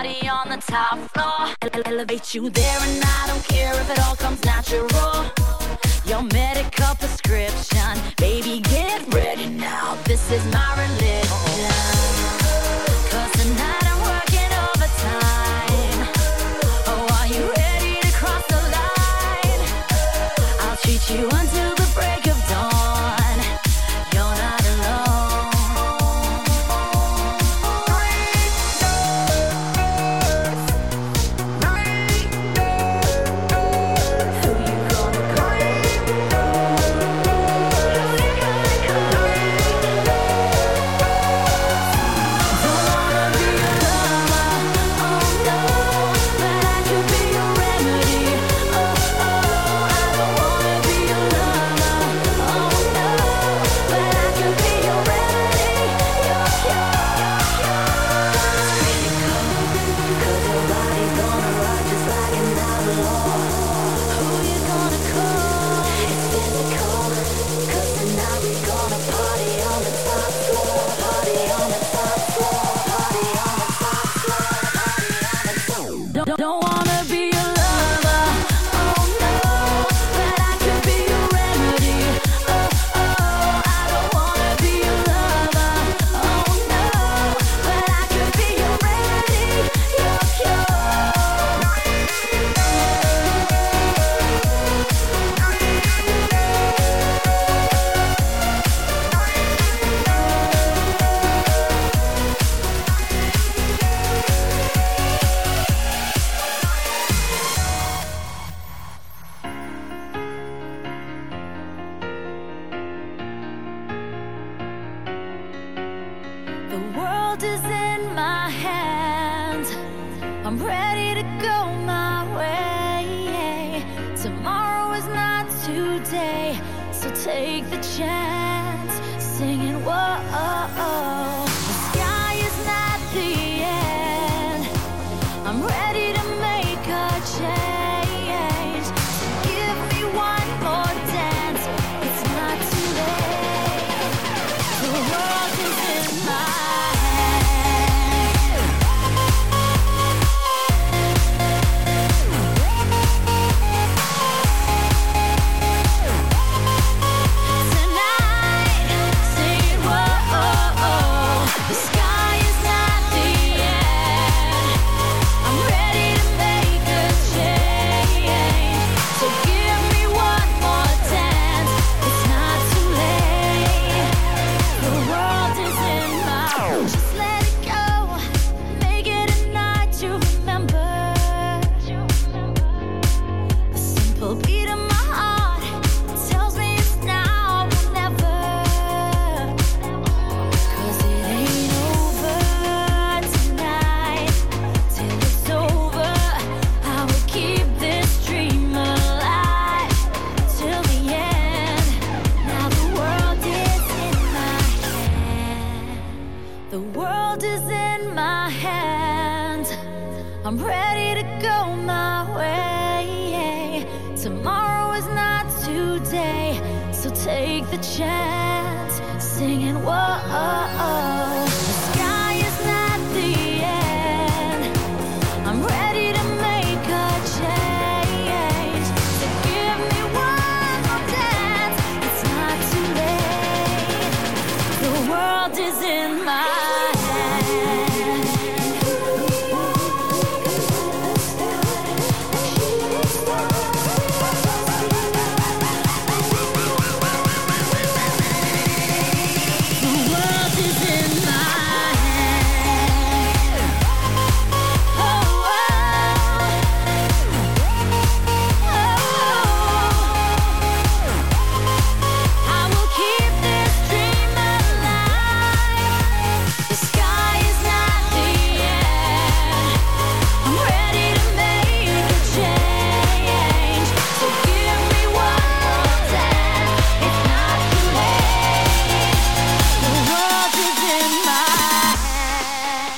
party on the top floor. Elevate you there and I don't care if it all comes natural. Your medical prescription, baby, get ready now. This is my religion. 'Cause tonight I'm working overtime. Oh, are you ready to cross the line? I'll treat you until the break of dawn. You're not alone. Who you gonna call? Don't wanna be your lover, oh no, but I could be your remedy. Oh, I don't wanna be your lover, oh no, but I could be your remedy. You're critical, 'cause your body's gonna rock just like an outlaw. Who you gonna call? It's physical, 'cause tonight we gonna party on the top floor. Party on the top floor. Party on the top floor. Party on the top floor. Don't wanna be your lover, oh no, but I could be your remedy. Oh, I don't wanna be your lover, oh no, but I could be your remedy. You're The world is in my hands. I'm ready to go my way. Tomorrow is not today, so take the chance. Singing, whoa, the sky is not the end. I'm ready to make a change. So give me one more dance. It's not too late. The world is in my hands. Tonight, sing, whoa, the sky is not the end. I'm ready to make a change. So give me one more dance. It's not too late. The world is in my hands. Just let it go. Make it a night to remember. The simple beat of my heart tells me it's now or never. 'Cause it ain't over tonight. Till it's over, I will keep this dream alive till the end. Now the world is in my hand. The world is in my hands. I'm ready to go my way. Tomorrow is not today, so take the chance. Singing, whoa, the sky is not the end. I'm ready to make a change. So give me one more dance. It's not too late. The world is in my hands. The world is in my hands. Oh, I will keep this dream alive. The sky is not the end. I'm ready to make a change. So give me one more dance. It's not too late. The world is in my hands.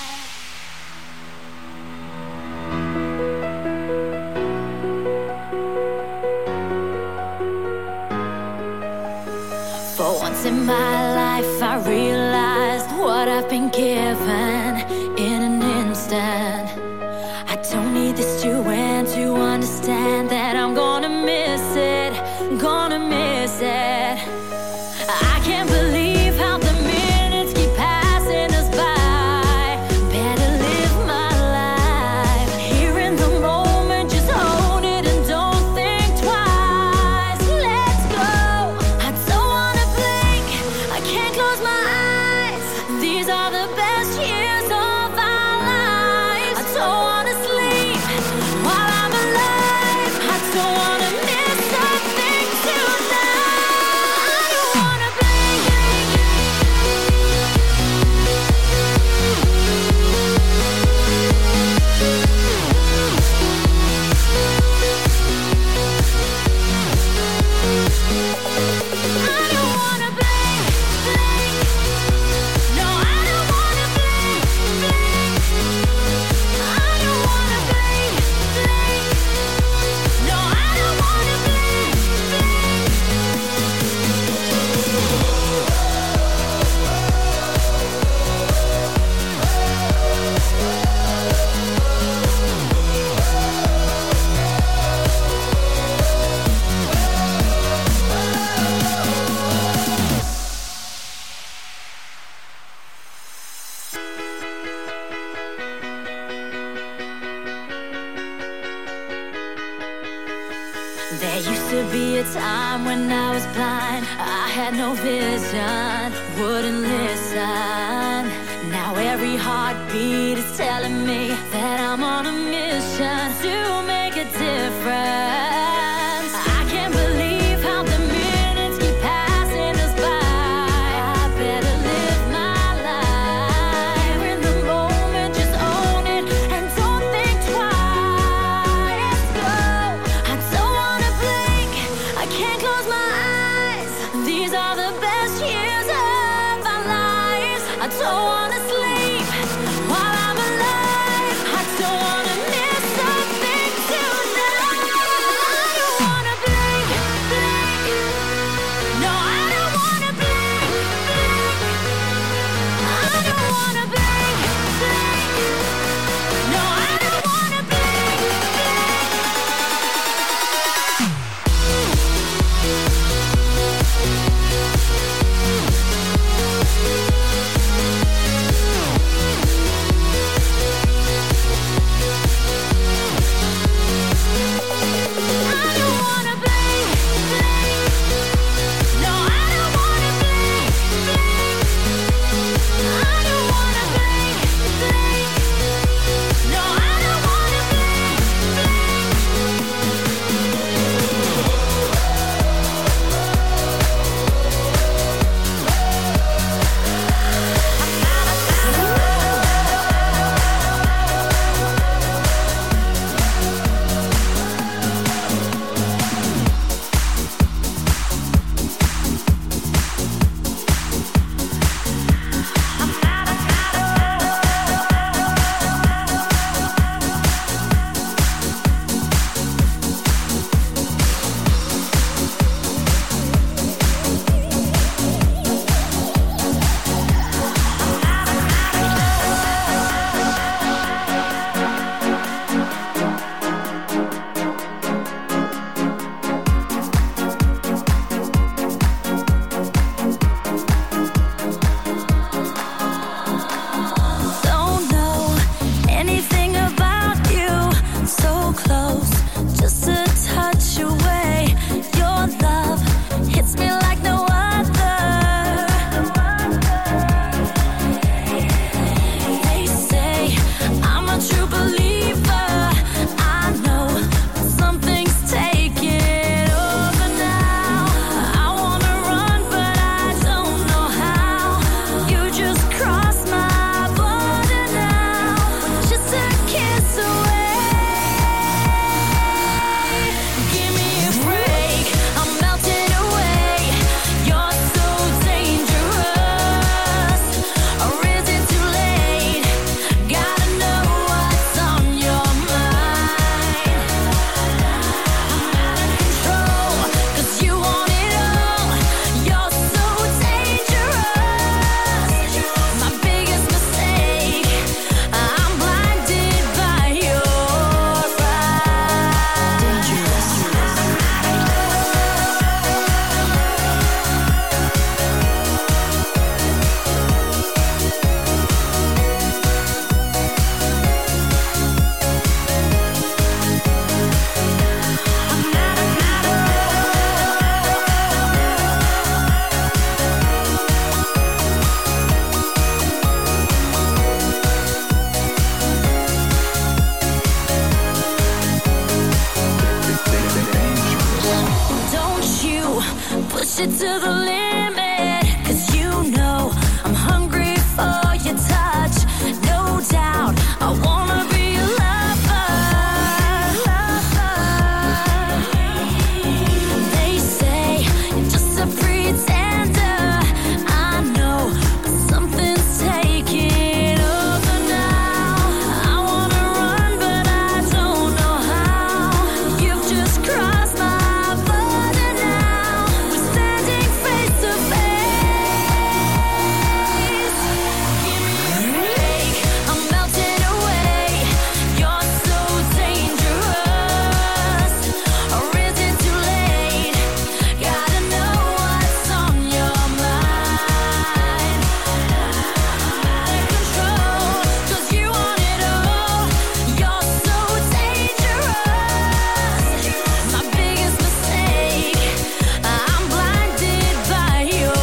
For once in my life, I realized what I've been given in an instant. don't need this to end to understand that I'm gonna miss it, gonna miss it. I can't believe how the minutes keep passing us by. Better live my life here in the moment, just own it and don't think twice. Let's go. I don't wanna blink, I can't close my eyes. These are the best years of our lives. I don't wanna sleep while I'm alive. I don't wanna miss a thing tonight. I don't wanna blink. I don't wanna blink, blink. No, I don't wanna blink, blink. I don't wanna blink, blink. No, I don't wanna blink, There used to be a time when I was blind. I had no vision, wouldn't listen. Now every heartbeat is telling me that I'm on a mission to make a difference. I can't believe how the minutes keep passing us by. I better live my life in the moment, just own it and don't think twice. Go. I don't wanna blink, I can't close my eyes. These are the best years of our lives. I don't wanna sleep while I'm alive. I don't wanna miss a thing. push it to the limit. 'Cause you know I'm hungry for your touch. No doubt, I wanna be your lover. They say you're just a pretender. I know, but something's taking over now. I wanna run, but I don't know how. You've just crossed my border now. We're standing face to face. Give me a break, I'm melting away. You're so dangerous. Or is it too late? Gotta know what's on your mind. Out of control, 'cause you want it all. You're so dangerous. My biggest mistake, I'm blinded by your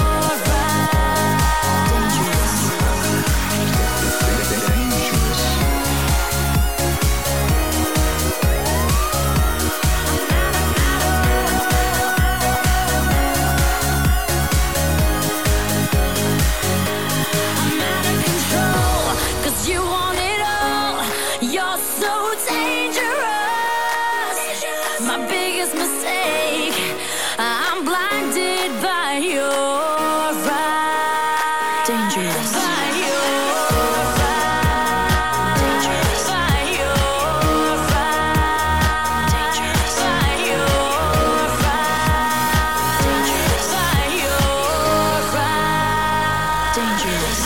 I'm out of control, 'cause you want it all. You're so dangerous. My biggest mistake, I'm blinded by your eyes. Dangerous. By your eyes. Dangerous. By your eyes. Dangerous. By your eyes. Dangerous. By your eyes. Dangerous.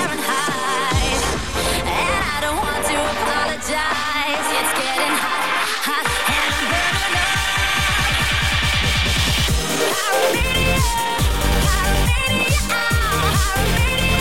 and hide. And I don't want to apologize. It's getting hot, hot, and I'm burning up. Pyromania, pyromania, pyromania.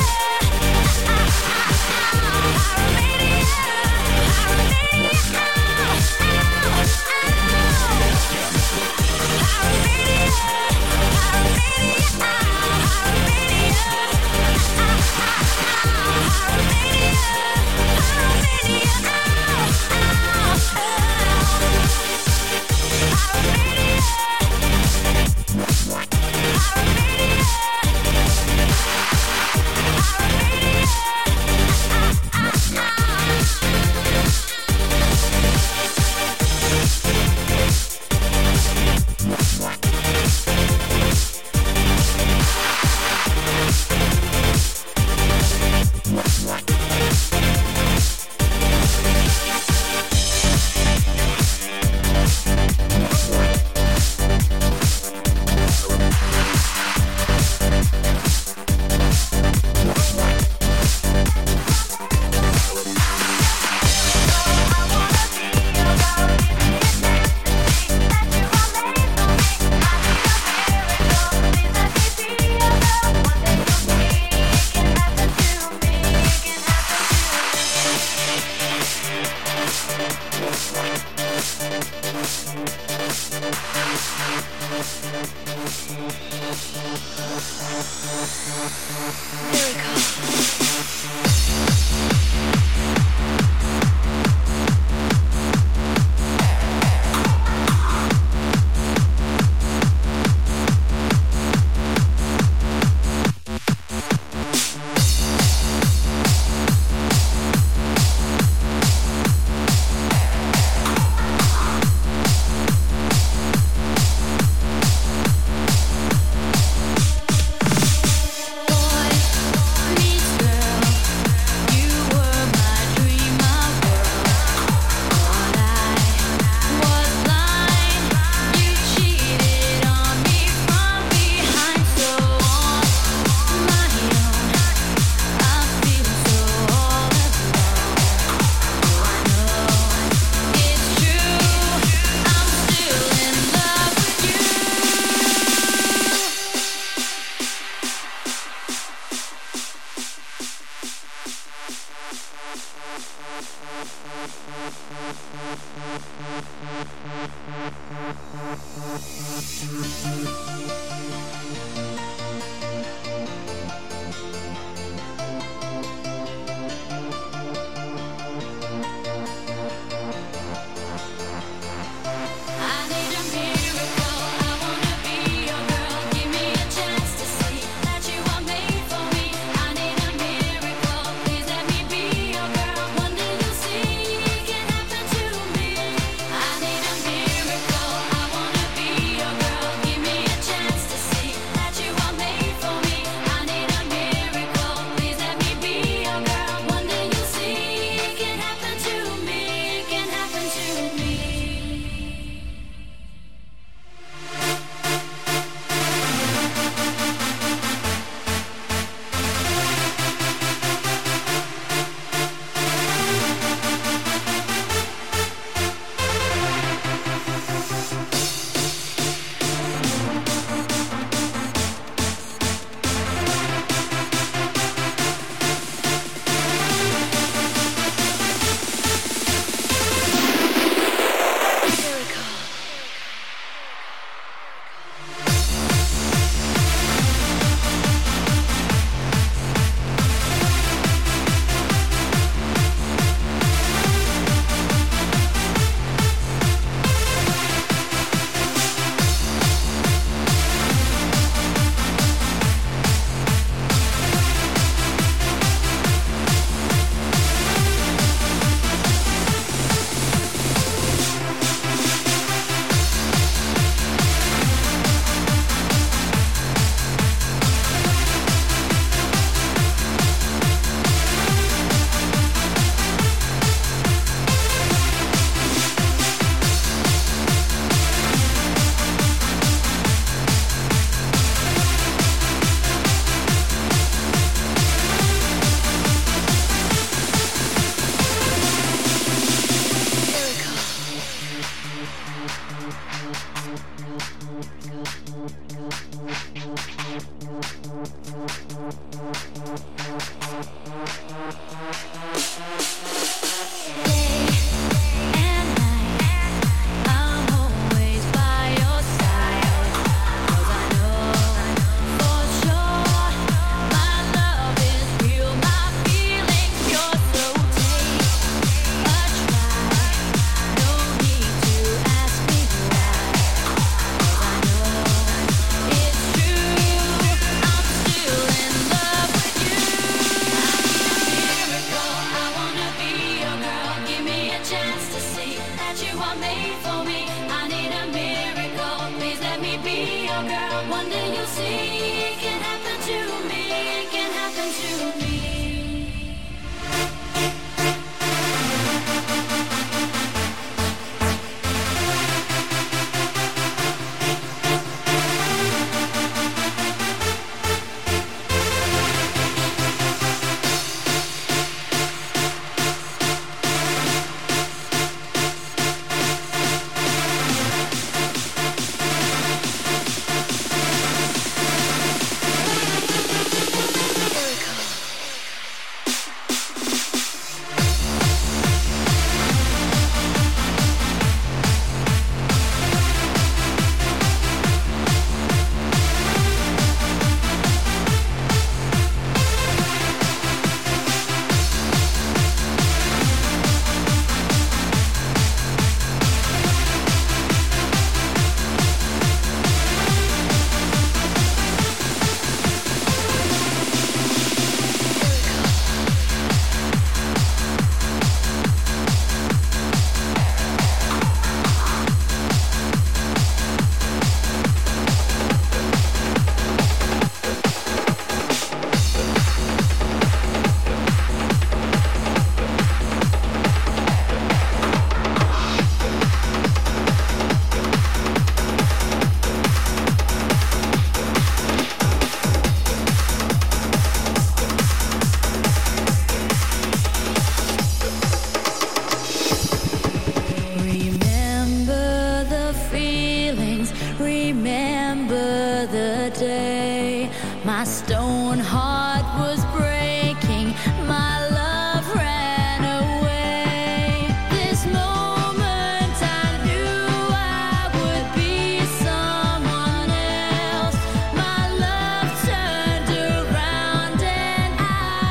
stone heart was breaking. My love ran away. This moment I knew I would be someone else. My love turned around and I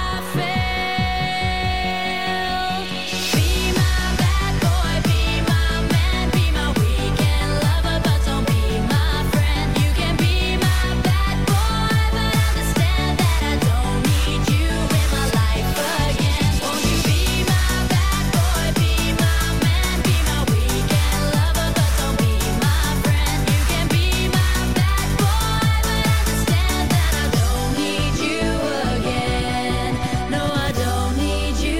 failed. Be my bad boy, be my man, be my weekend lover, but don't be my friend. You can be my bad boy, but understand that I don't need you in my life again. Won't you be my bad boy, be my man, be my weekend lover, but don't be my friend. You can be my bad boy, but understand that I don't need you again. No, I don't need you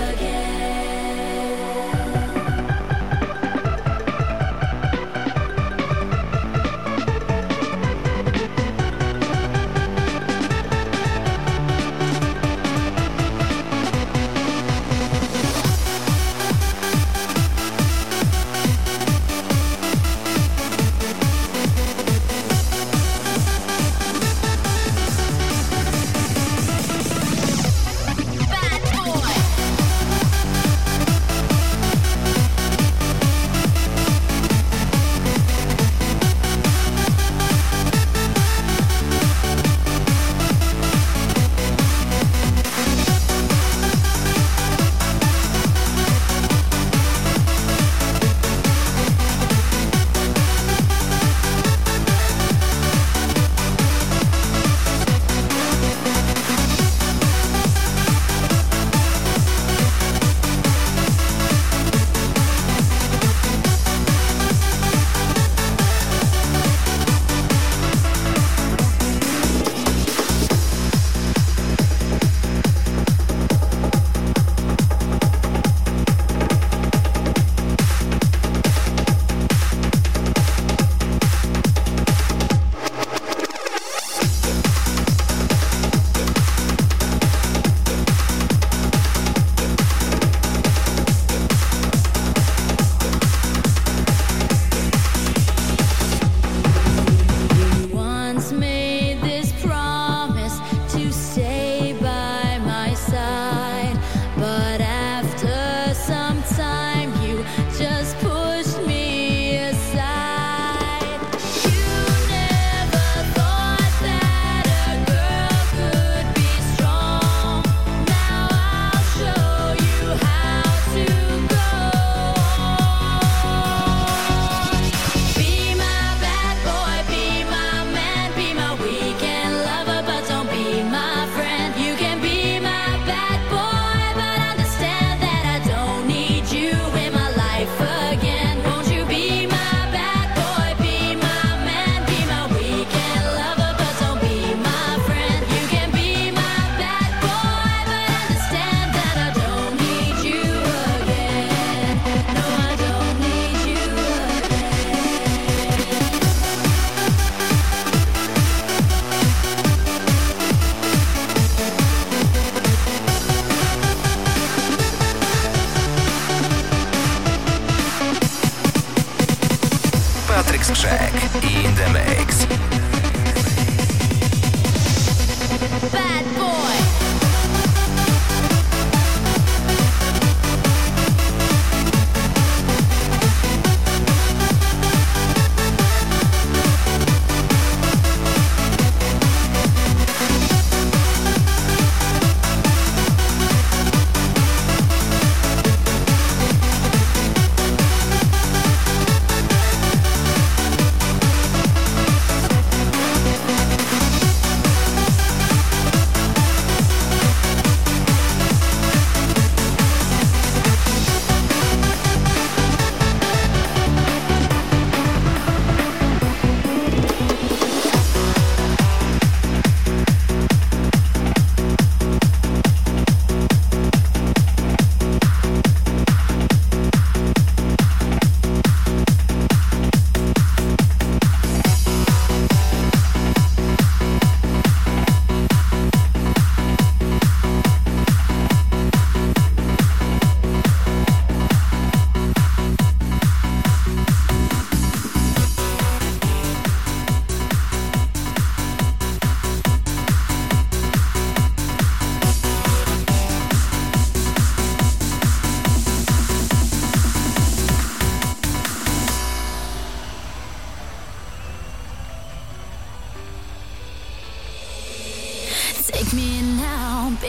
bad boy. Once made this promise to stay by my side, but after some time you just pushed me aside. You never thought that a girl could be strong. Now I'll show you how to go on. Be my bad boy, be my man, be my weekend lover, but don't be my friend. You can be my bad boy, but understand that I don't need you in my life again. Won't you be my bad boy, be my man, be my weekend lover, but don't be my friend. You can be my bad boy, but understand that I don't need you again. No, I don't need you Patryk Skrzek in the mix. bad boy.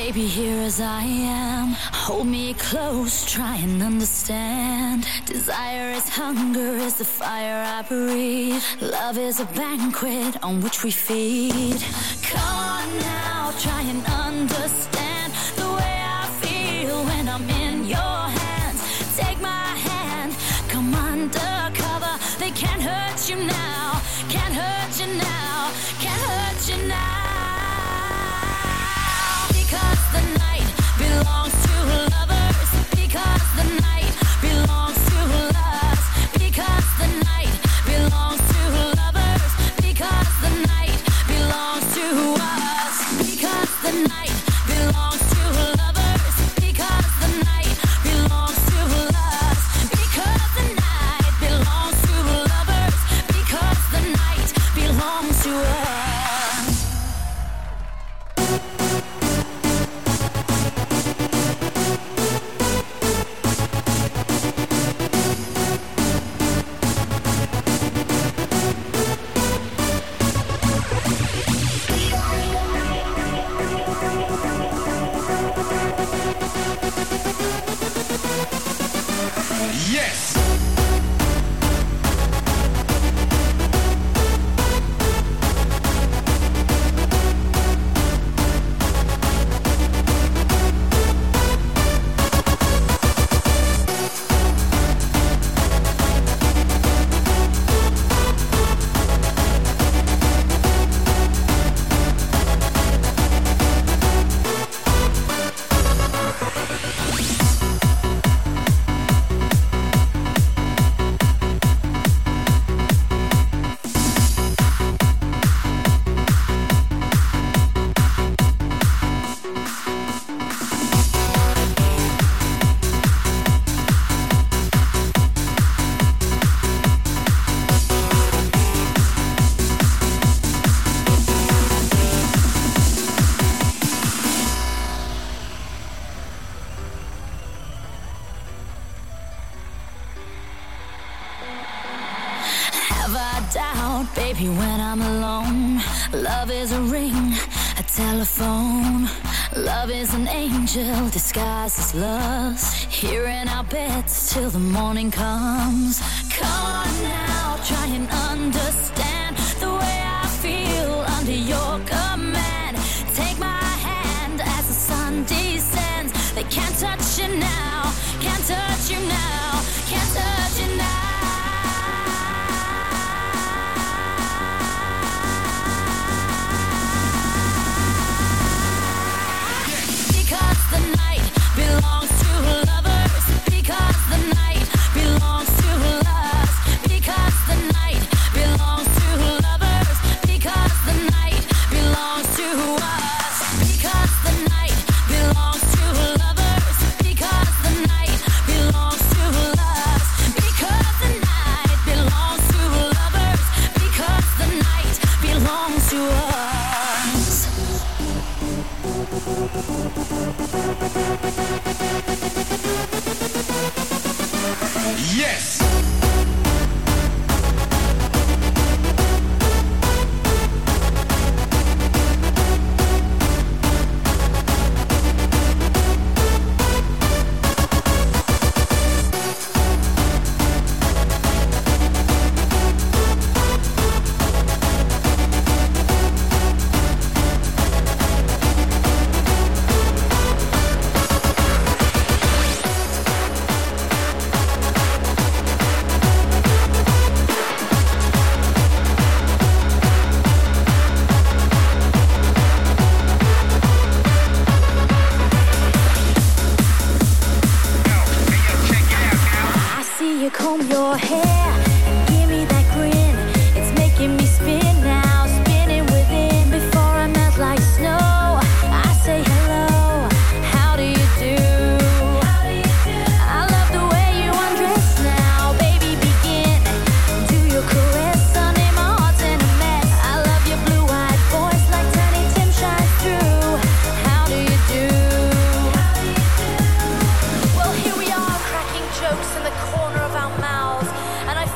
Baby, here as I am, hold me close, try and understand. Desire is hunger, is the fire I breathe. Love is a banquet on which we feed. Come on now, try and understand the way I feel when I'm in your hands. Take my hand, come undercover. They can't hurt you now, can't hurt you now, can't hurt you now. Because the night belongs to lovers. Because the night belongs to us. Because the night belongs to lovers. Because the night belongs to us. Because the night belongs to lovers. Because the night belongs to us. Because the night belongs to lovers. Because the night belongs to us. Yes! Baby, when I'm alone, love is a ring, a telephone. Love is an angel disguised as lust, here in our beds till the morning comes. Come on now, try and understand the way I feel under your command. Take my hand as the sun descends. They can't touch you now, can't touch you now, can't touch you now. Because the night belongs to lovers. Because the night belongs to us. Because the night belongs to lovers. Because the night belongs to us. Because the night belongs to lovers. Because the night belongs to us. Because the night belongs to lovers. Because the night belongs to us. Yes! Comb your hair and give me that grin. It's making me spin now, spinning within. Before I melt like snow, I say hello. How do you do? I love the way you undress now, baby. Begin. Do your caress, Sunday my heart's in a mess. I love your blue-eyed voice like Tiny Tim shines through. How do you do? Well, here we are, cracking jokes in the corner of our mouths, and I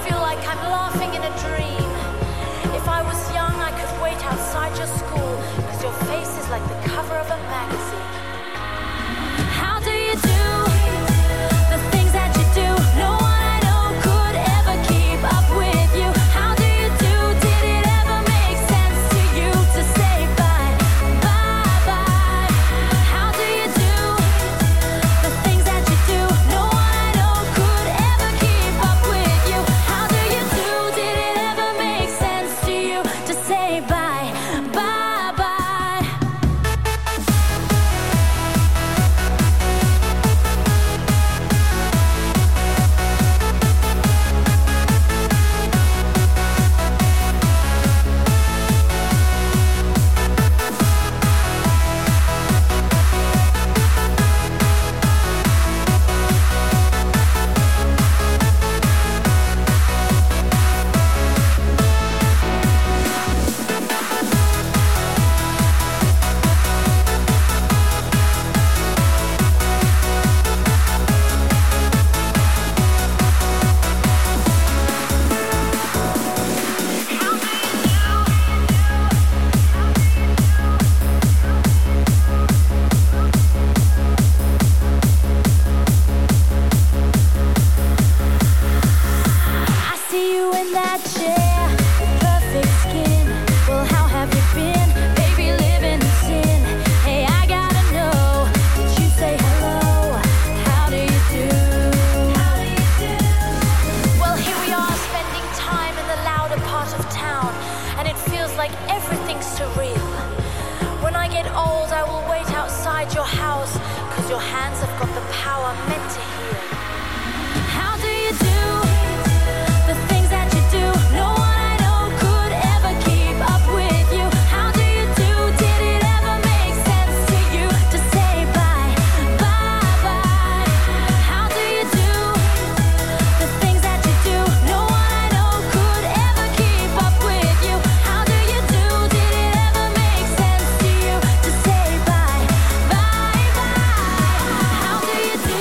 hands have got the power meant to heal. How do you do the things that you do? No one I know could ever keep up with you. How do you do? Did it ever make sense to you to say bye, bye, bye? How do you do the things that you do? No one I know could ever keep up with you. How do you do? Did it ever make sense to you to say bye, bye, bye? How do you do?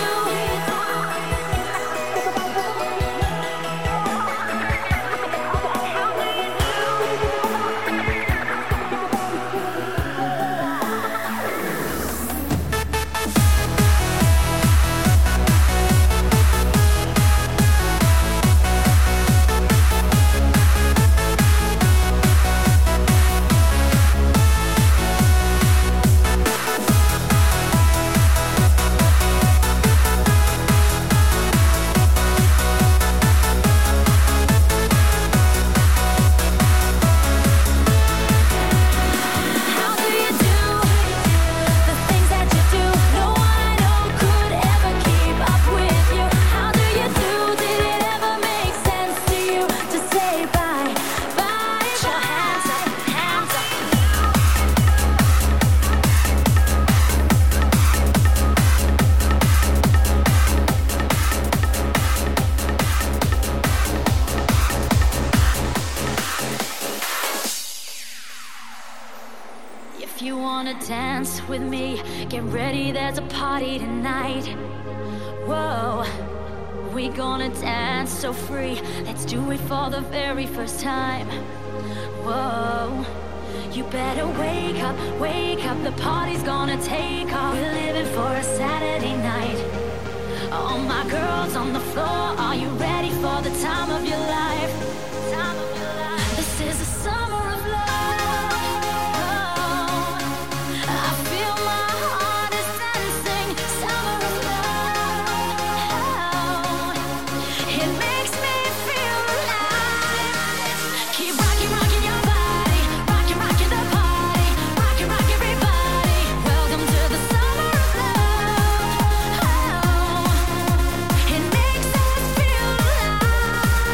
How do you do the things that you do? No one I know could ever keep up with you. How do you do? Did it ever make sense to you to say bye, bye, bye? Your hands up, hands up. If you wanna dance with me, get ready, there's a party tonight. Whoa, we gonna dance so free. Let's do it for the very first time. Whoa, you better wake up, the party's gonna take off. We're living for a Saturday night. All my girls on the floor, are you ready for the time of your life? Time of your life. This is the summer of love. I feel my heart is dancing. Summer of love. It makes me feel alive. Keep rocking, rocking your body. Rocking, rocking the party. Rocking, rock everybody. Welcome to the summer of love. It makes us feel alive.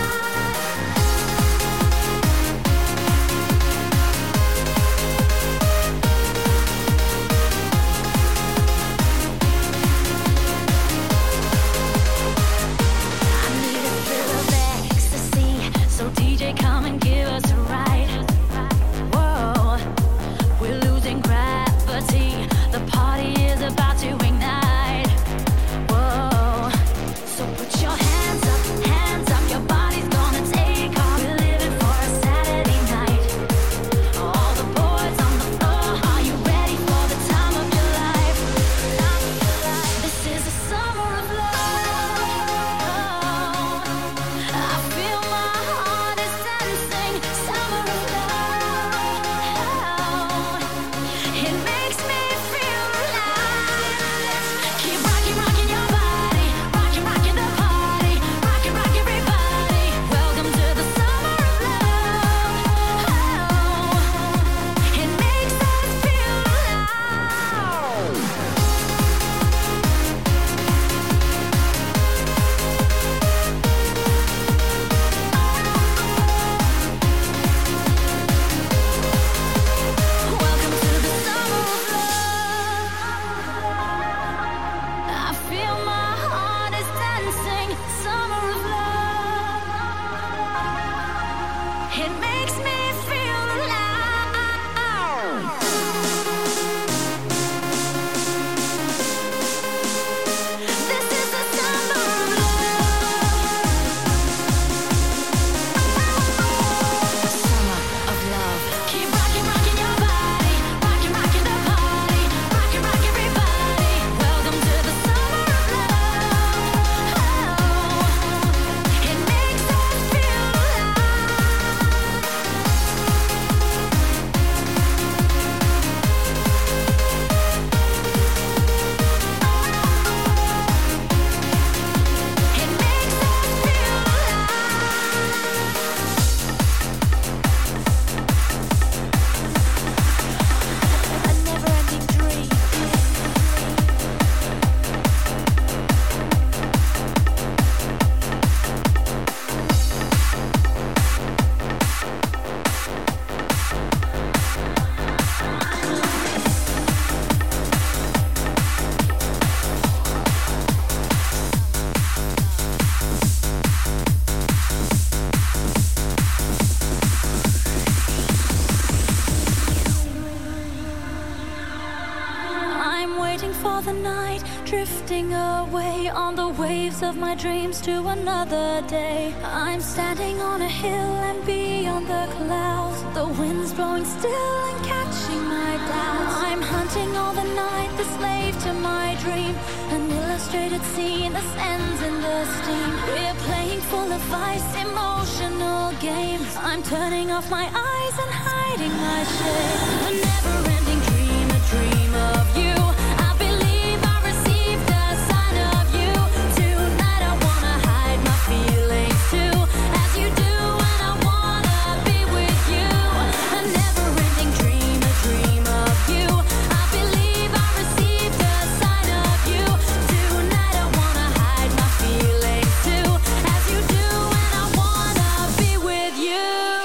night, drifting away on the waves of my dreams to another day. I'm standing on a hill and beyond the clouds, the wind's blowing still and catching my doubts. I'm hunting all the night, the slave to my dream, an illustrated scene that ends in the steam. We're playing full of ice, emotional games. I'm turning off my eyes and hiding my shame. A never-ending dream, a dream of you. I believe I received a sign of you. Tonight I wanna hide my feelings too, as you do, and I wanna be with you. A never-ending dream, a dream of you. I believe I received a sign of you. Tonight I wanna hide my feelings too, as you do, and I wanna be with you.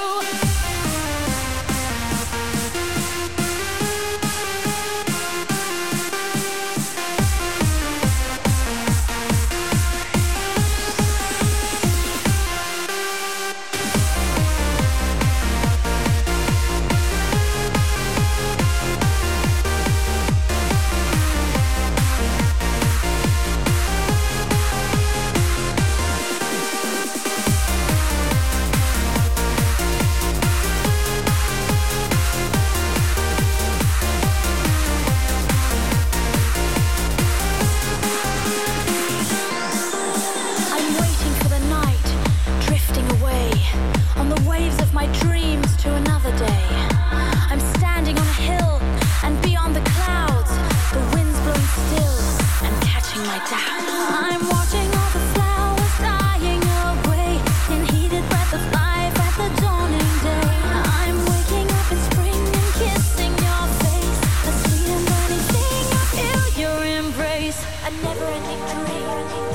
I'm waiting for the night, drifting away on the waves of my dreams to another day. I'm standing on a hill and beyond the clouds, the wind's blowing still and catching my doubts. I'm watching all the flowers dying away in heated breath of life at the dawning day. I'm waking up in spring and kissing your face, a sweet and burning thing, I feel your embrace. A never-ending dream.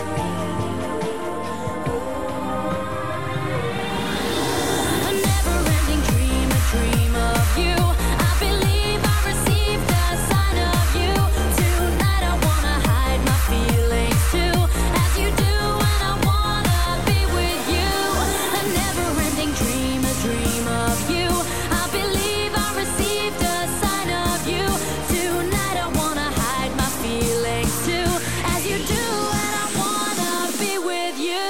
A never-ending dream, a dream of you. I believe I received a sign of you. Tonight I wanna hide my feelings too, as you do, and I wanna be with you. A never-ending dream, a dream of you. I believe I received a sign of you. Tonight I wanna hide my feelings too, as you do, and I wanna be with you.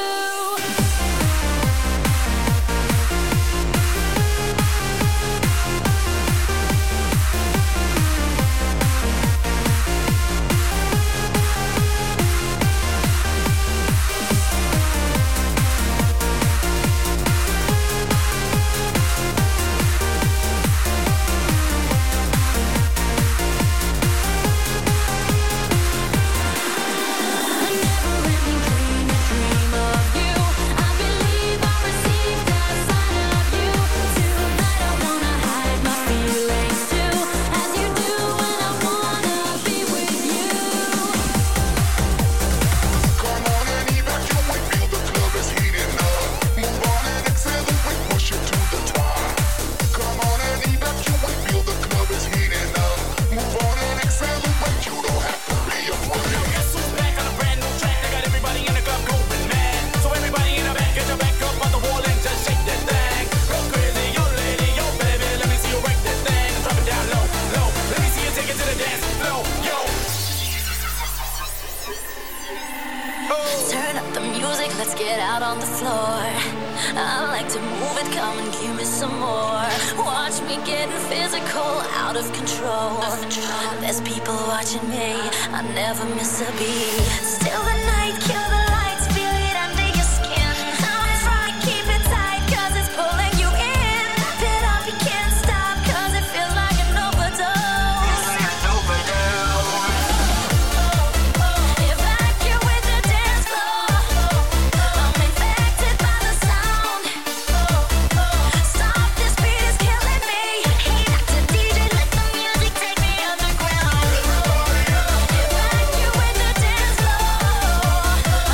A never-ending dream, a dream of you. I believe I received a sign of you. Tonight I wanna hide my feelings too, as you do, and I wanna be with you. Come on and evacuate, feel the club is heating up. Move on and accelerate, push it to the top. Come on and evacuate, feel the club is heating up. Move on and accelerate, you don't have to be afraid. Guess who's back on a brand new track? They got everybody in the club going mad. So everybody in the back, get your back up on the wall and just shake that thing. Go crazy, yo lady, yo baby, let me see you break that thing. Drop it down low, low. Let me see you take it to the dance floor, yo. Turn up the music, let's get out on the floor. I like to move it, come and give me some more. Watch me getting physical, out of control. There's people watching me, I never miss a beat. Still the night, kill the lights, feel it under your skin. I'm trying to keep it tight, cause it's pulling you in. Wrap it up, you can't stop, cause it feels like an overdose. Evacuate the dance floor. I'm infected by the sound. Stop, this beat is killing me. Hey, Dr. DJ, let the music take me underground. Evacuate the dance floor.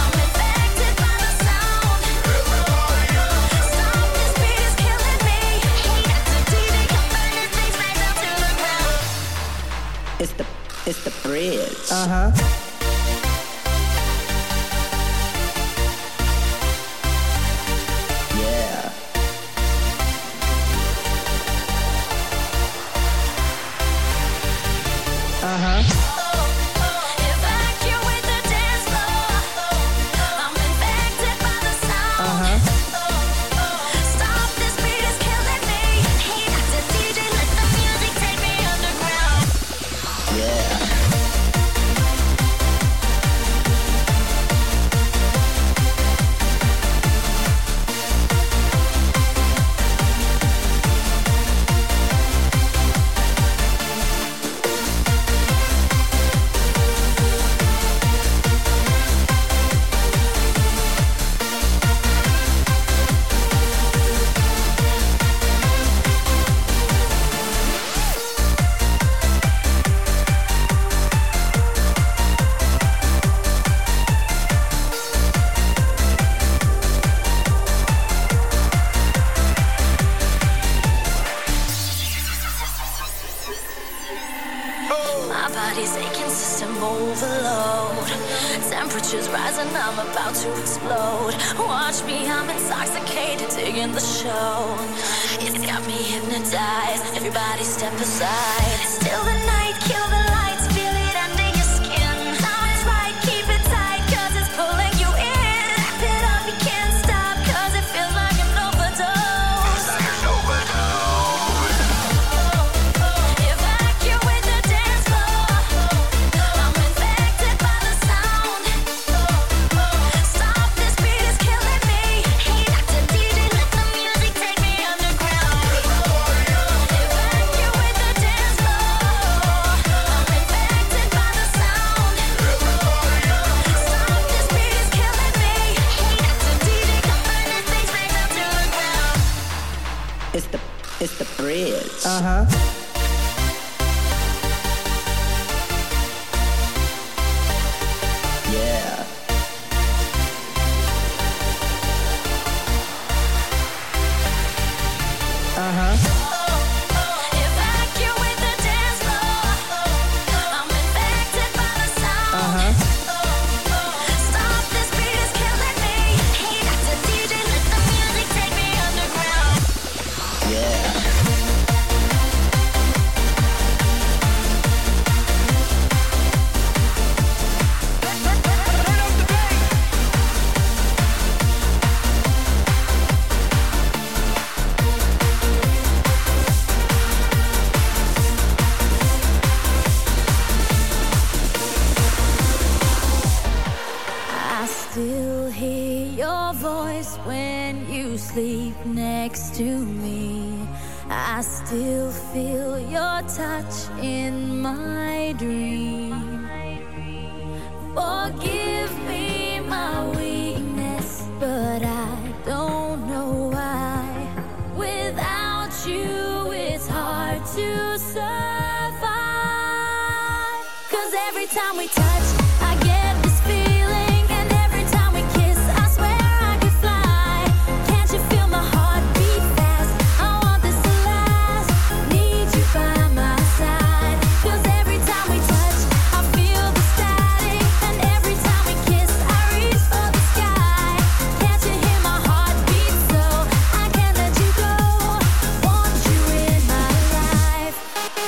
Temperature's rising, I'm about to explode. Watch me, I'm intoxicated, digging the show. It's got me hypnotized. Everybody step aside. Still the night, kill the lights, feel it under your skin. Time is right, keep it tight, 'cause it's pulling you in. Wrap it up, you can't stop, 'cause it feels like an overdose. Feels like an overdose. Evacuate the dance floor. I'm infected by the sound. Stop, this beat is killing me. Hey, Dr. DJ, let the music take me underground. Evacuate the dance floor. I'm infected by the sound. Stop, this beat is killing me. Hey, Dr. DJ, come burn this thing straight down to the ground. It's the bridge. Yeah. Evacuate the dance floor. I'm infected by the sound. Stop, this beat is killing me. Hey, Dr. DJ, let the music take me underground. Yeah. I still hear your voice when you sleep next to me. I still feel your touch in my dream. Forgive me my weakness, but I don't know why. Without you, it's hard to survive. 'Cause every time we touch, I get this feeling, and every time we kiss, I swear I could fly. Can't you feel my heart beat fast? I want this to last. Need you by my side. 'Cause every time we touch, I feel the static, and every time we kiss, I reach for the sky. Can't you hear my heart beat? So I can't let you go. Want you in my life.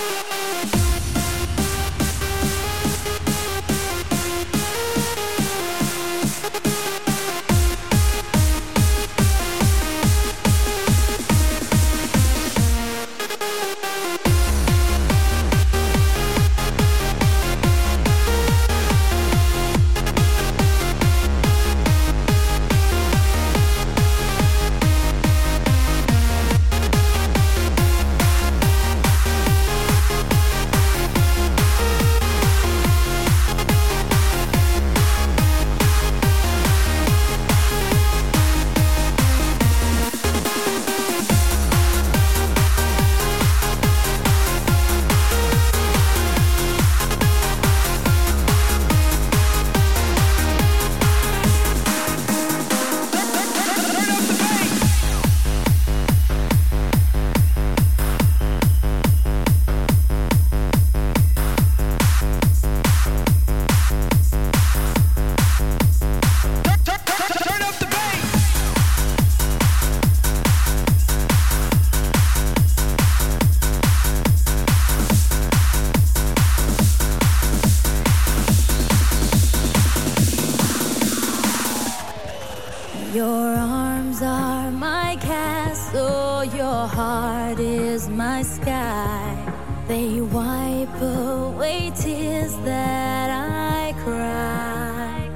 Your arms are my castle, your heart is my sky. They wipe away tears that I cry.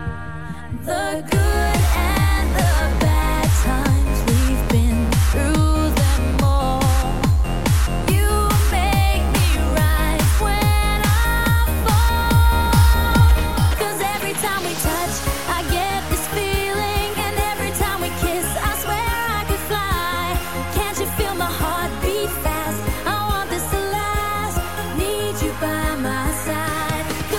The good and the bad times, we've been through them all. You make me rise when I fall. 'Cause every time we touch, I get this feeling, and every time we kiss, I swear I could fly. Can't you feel my heart beat fast? I want this to last. Need you by my side.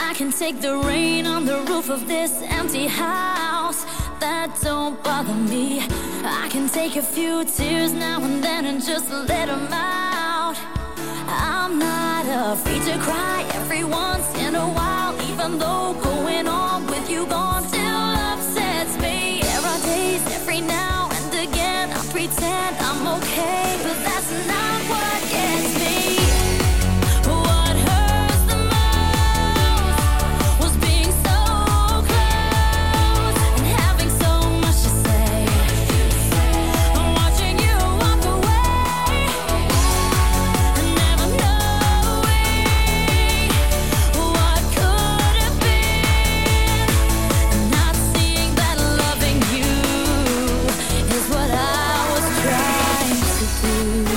I can take the rain on the roof of this empty house. That don't bother me. I can take a few tears now and then and just let them out. I'm not afraid to cry every once in a while, even though going on with you gone still upsets me. There are days every now and again I pretend I'm okay, but that's not what gets me. What hurts the most was being so close and having so much to say. I'm watching you walk away and never knowing what could have been, and not seeing that loving you is what I was trying to do.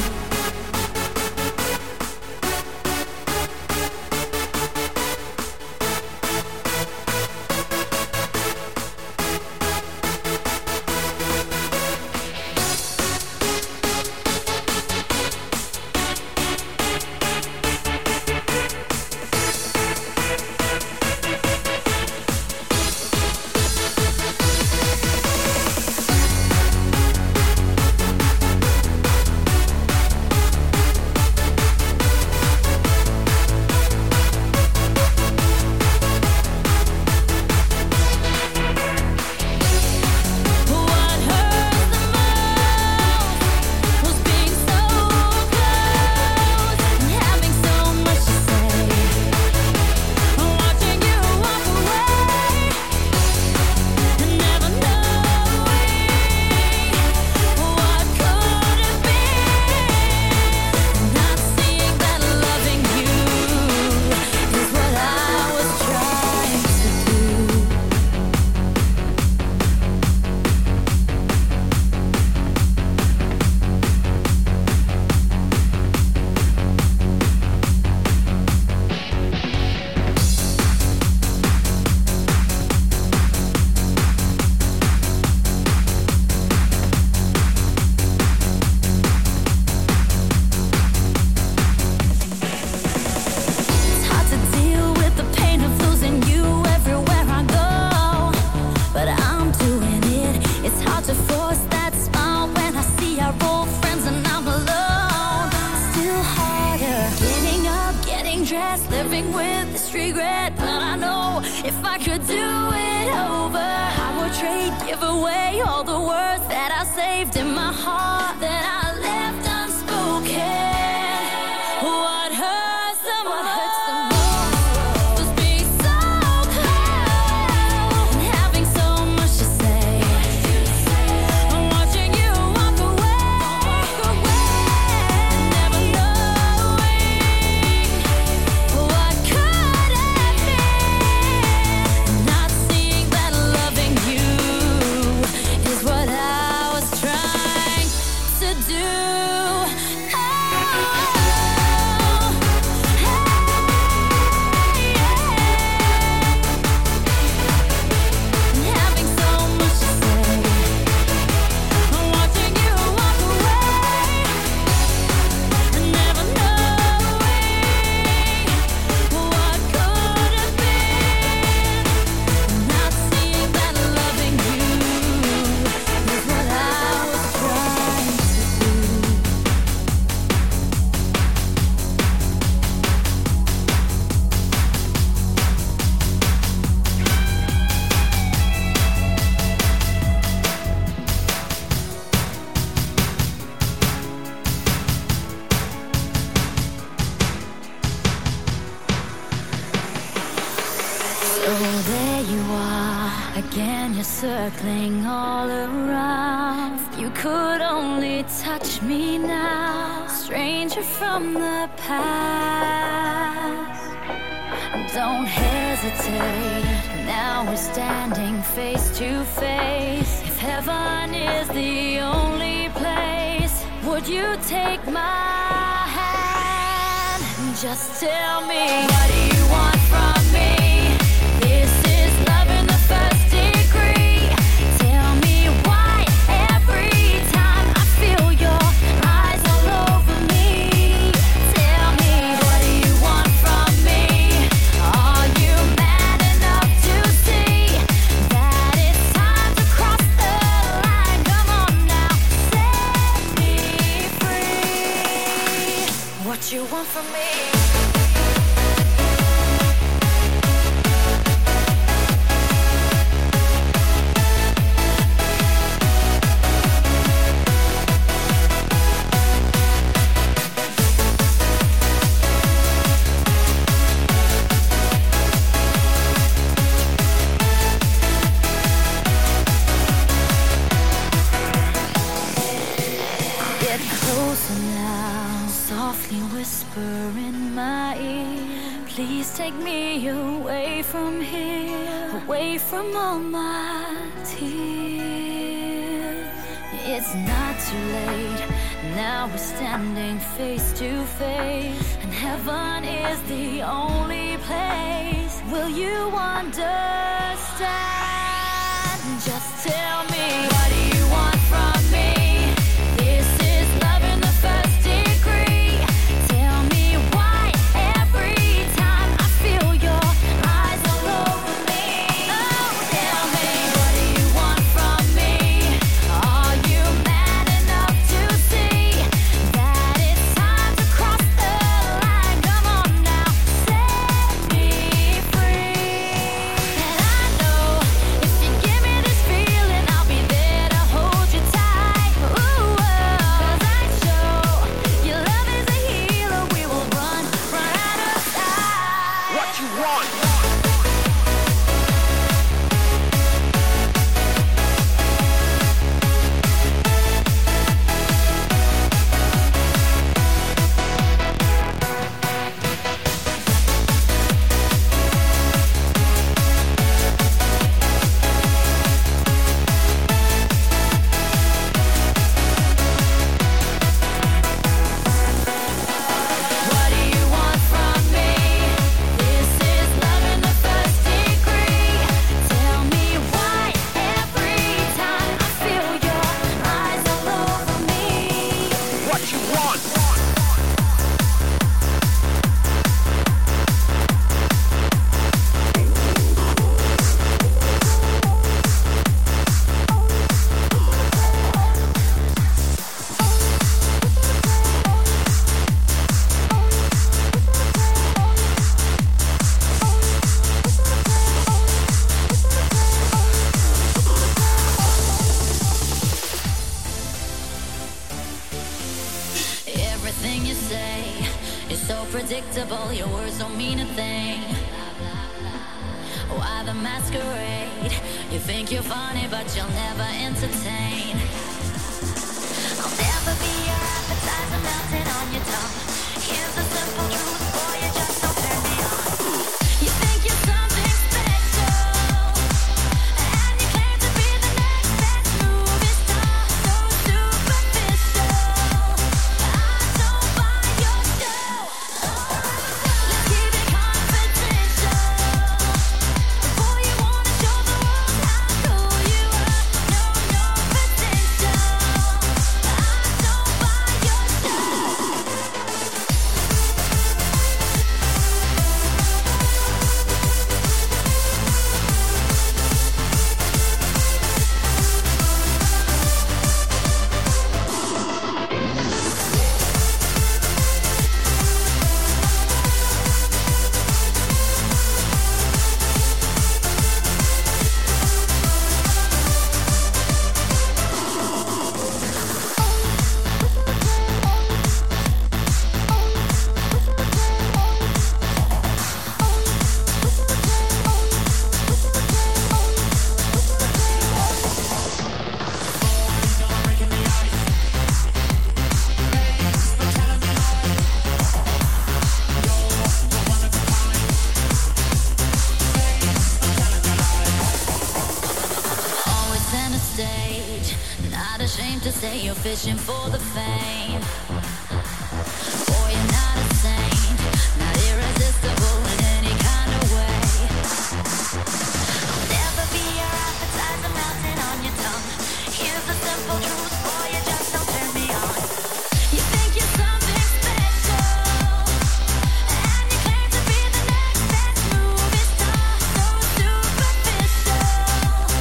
What hurts the most was being so close and having so much to say. I'm watching you walk away and never knowing what could have been, not seeing that loving you is what I was trying to do. It's hard to deal with the pain of losing you everywhere I go, but I'm doing it. It's hard to force that smile when I see our old friends and I'm alone. Still harder getting up, getting dressed, living with this regret. But I know if I could do it over, I would trade, give away all the words that I saved in my heart that I left unspoken. What hurts the most was being so close and having so much to say. I'm watching you walk away and never knowing what could have been, not seeing that loving you is what I was trying to do. Having so much to say, I'm watching you walk away and never knowing what could have been, not seeing that loving you is what I was trying to do. So there you are, again you're circling all around. If you could only touch me now, stranger from the past. Don't hesitate, now we're standing face to face. If heaven is the only place, would you take my hand and just tell me, what do you want from me? This is love in the first degree. Tell me why every time I feel your eyes all over me. Tell me, what do you want from me? Are you mad? what you want from me. Take me away from here, away from all my tears. It's not too late, now we're standing face to face, and heaven is the only place. Will you understand? Just tell me, what do you want from me? This is love in the first degree. Tell me why every time I feel your eyes all over me. Oh, tell me, what do you want from me? Are you man enough to see that it's time to cross the line? Come on now, set me free. And I know if you give me this feeling, I'll be there to hold you tight. Ooh, 'cause I show your love is a healer. We will run out of time. What you want? What do you want from me? This is love in the first degree. Tell me why every time I feel your eyes all over me. What you want? Everything you say is so predictable. Your words don't mean a thing. Why the masquerade? You think you're funny, but you'll never entertain. I'll never be your appetizer melting on your tongue. Here's the simple truth, boy, you just don't turn me on. You think you're something special, and you claim to be the next best movie star. So superficial, I don't buy your show. Let's keep it confidential. Before you wanna show the world how cool you are, know your potential. I don't buy your show. Always center stage, not ashamed to say you're fishing for the fame. Boy, you're not a saint, not irresistible in any kind of way. I'll never be your appetizer melting on your tongue. Here's the simple truth, boy, you just don't turn me on. You think you're something special, and you claim to be the next best movie star. So superficial,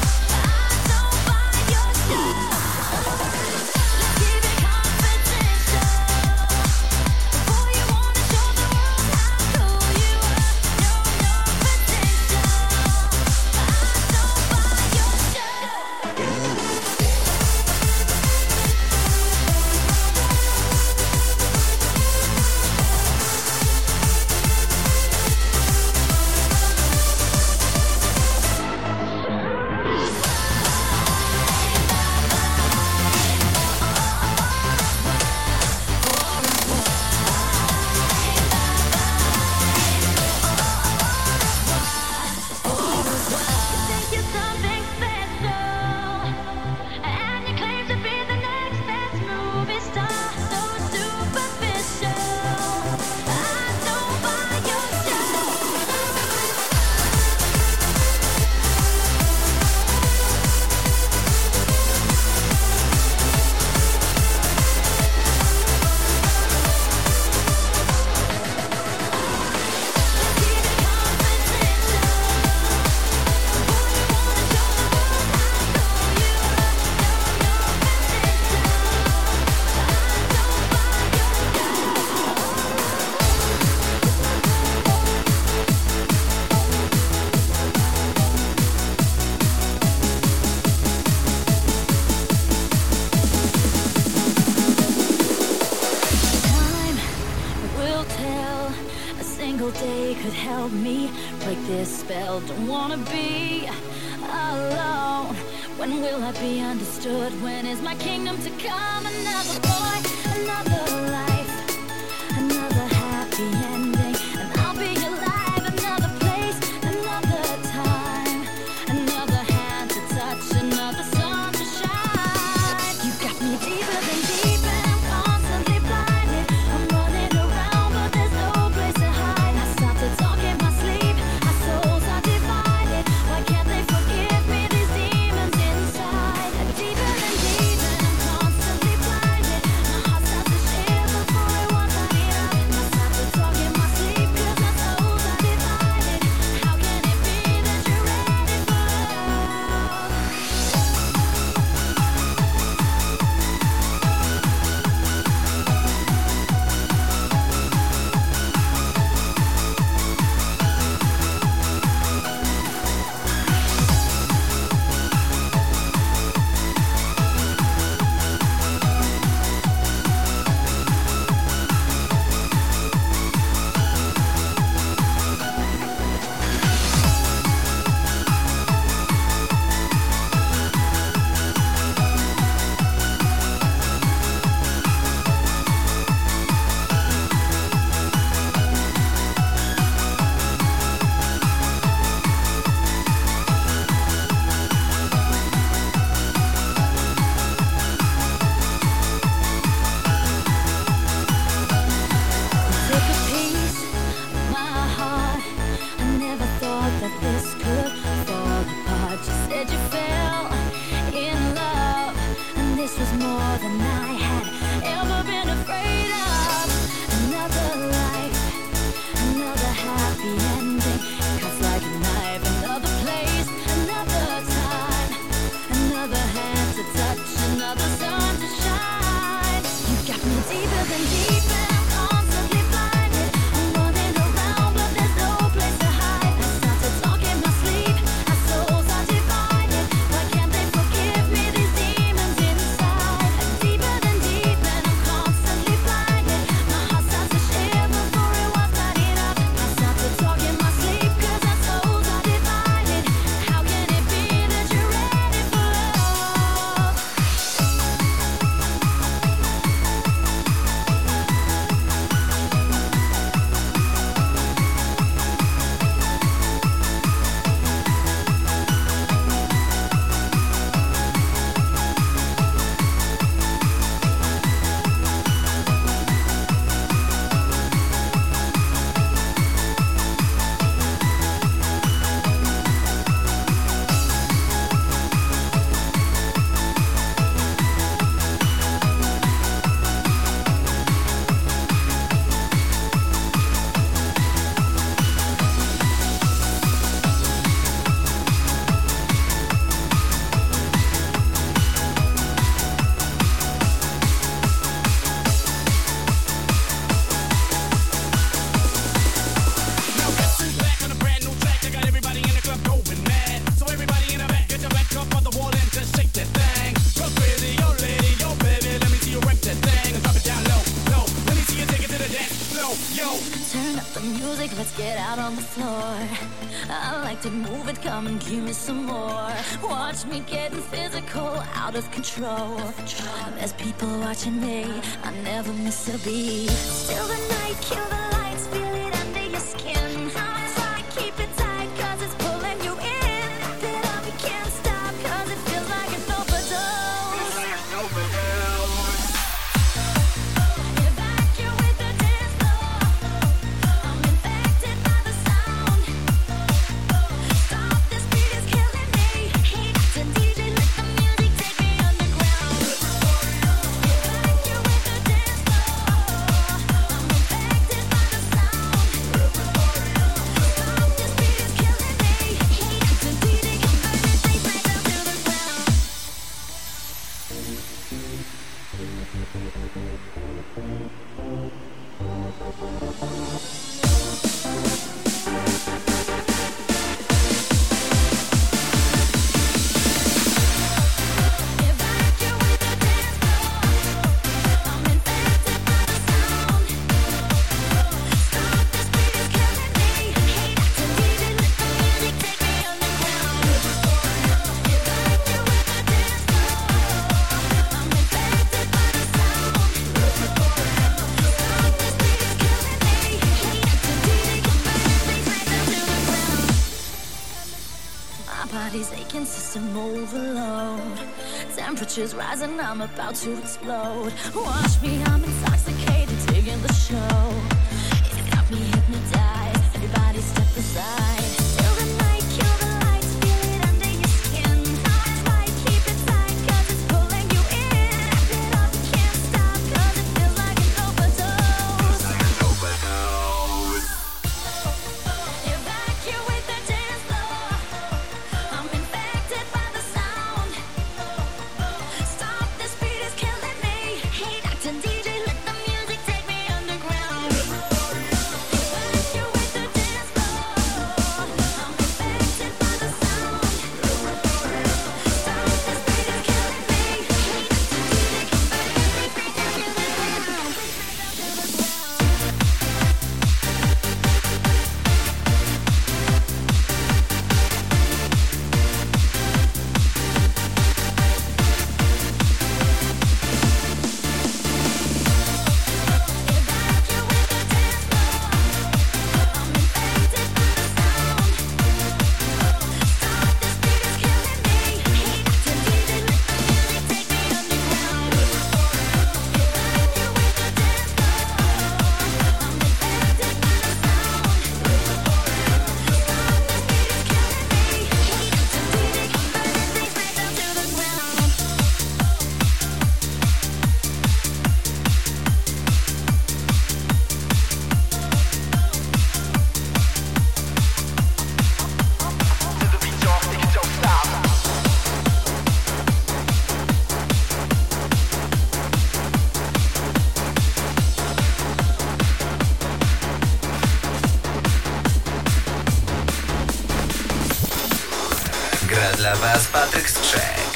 I don't buy your show. Let's keep it confidential. single day could help me break this spell. Don't wanna be alone. When will I be understood? When is my kingdom to come? Another boy, another life, another happy ending, and I'll be alive. Another place, another time, another hand to touch, another sun to shine. You got me deeper than deep, and I'm constantly blinded. I'm running around, but there's no place to hide. I start to talk in my sleep. Our souls are divided. Why can't they forgive me? These demons inside. Deeper than deep, and I'm constantly blinded. My heart starts to shiver for it once I need up. I start to talk in my sleep, 'cause our souls are divided. How can it be that you're ready for love? Took a piece of my heart. I never thought that this could fall apart. You said you fell in love, and this was more than I had ever been afraid of. Another life, another happy ending, cuts like a knife. Another place, another time, another hand to touch, another sun to shine. You got me deeper than deep, and I'm constantly blinded. I'm running around, but there's no place to hide. I start to talk in my sleep. Our souls are divided. Why can't they forgive me? These demons inside. Deeper than deep, and I'm constantly blinded. My heart starts to shiver for it once I need up. I start to talk in my sleep, 'cause our souls are divided. How can it be that you're ready for love? Now guess who's back on a brand new track? I got everybody in the club going mad. So everybody in the back, get your back up on the wall and just shake that thing. Go crazy, yo lady, yo baby, let me see you work that thing and drop it down low, low. Let me see you take it to the dance floor, yo. Turn up the music, let's get out on the floor. I like to move it, come and give me some more. Watch me getting physical, out of control. There's people watching me, I never miss a beat. Still the night, kill the lights, feel it under your skin. I'm trying to keep it tight, 'cause it's pulling you in. Get up, you can't stop, 'cause it feels like an overdose. Evacuate the dance floor. I'm infected by the sound. Stop, this beat is killing me. Hey, the DJ, let the music take me underground. Evacuate the dance floor. I'm infected by the Stop, this beat is killing me. body's aching, system overload. Temperatures rising, I'm about to explode. Watch me, I'm intoxicated, taking the show. It's got me hypnotized, everybody step aside. Till the night, kill the lights, feel it under your skin. Tight, keep it tight, cause it's pulling you in. Wrap it up, can't stop, cause it feels like an overdose. Evacuate the dance floor. I'm infected by the sound. Stop, this beat is killing me. Hey, Dr. DJ, let the music take me underground. Evacuate the dance floor. I'm infected by the sound. Stop, this beat is killing me. Hey, Dr. DJ, bring it down to the ground. Gra dla Was Patryk Skrzek.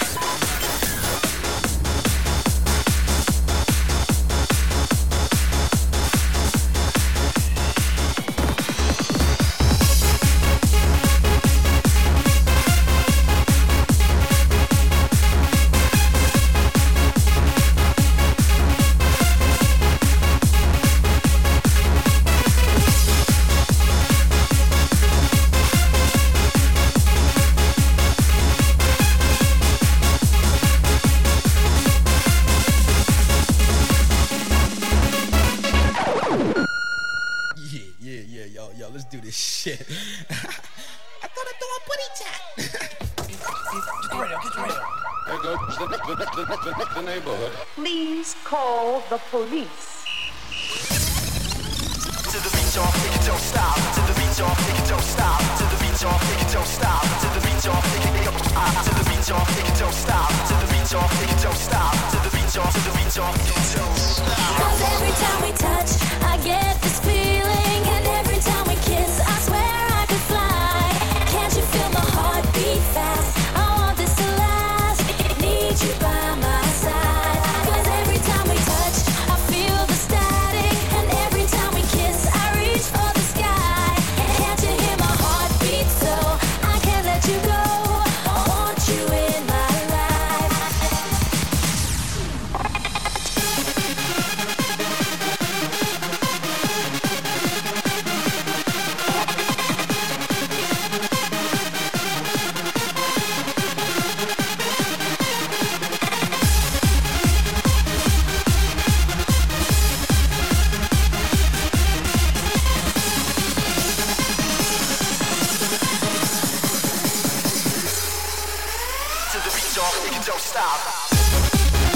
Yo, let's do this shit. I thought I threw a booty chat. There goes the neighborhood. Please call the police. To the beat, y'all, take it, don't stop. To the beat, y'all, take it, don't stop. To the beat, y'all, take it, don't stop. To the beat, y'all, take it, don't stop. To the beat, y'all, take it, don't stop. To the beat, y'all, take it, don't stop. To the beat, y'all, to the beat, y'all, don't stop. 'Cause every time we touch, I get this feeling, and every time we kiss, I swear I could fly. Can't you feel my heart beat fast? I want this to last. Need you by my side. 'Cause every time we touch, I feel the static, and every time we kiss, I reach for the sky. Can't you hear my heart beat? So I can't let you go. I want you in my life. To the beat, y'all, take it, don't stop.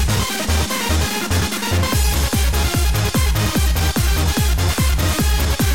To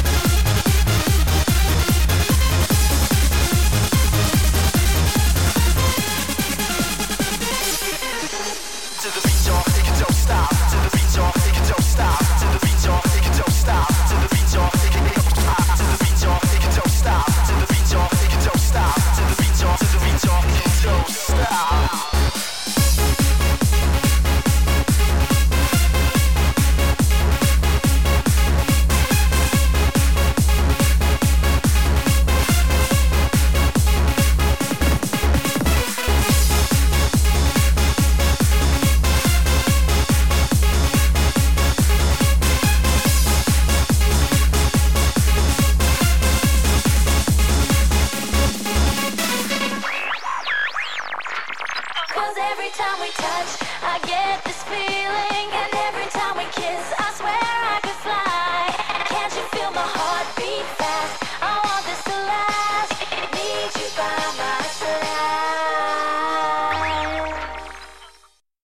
'Cause every time we touch, I get this feeling, and every time we kiss, I swear I could fly. Can't you feel my heart beat fast?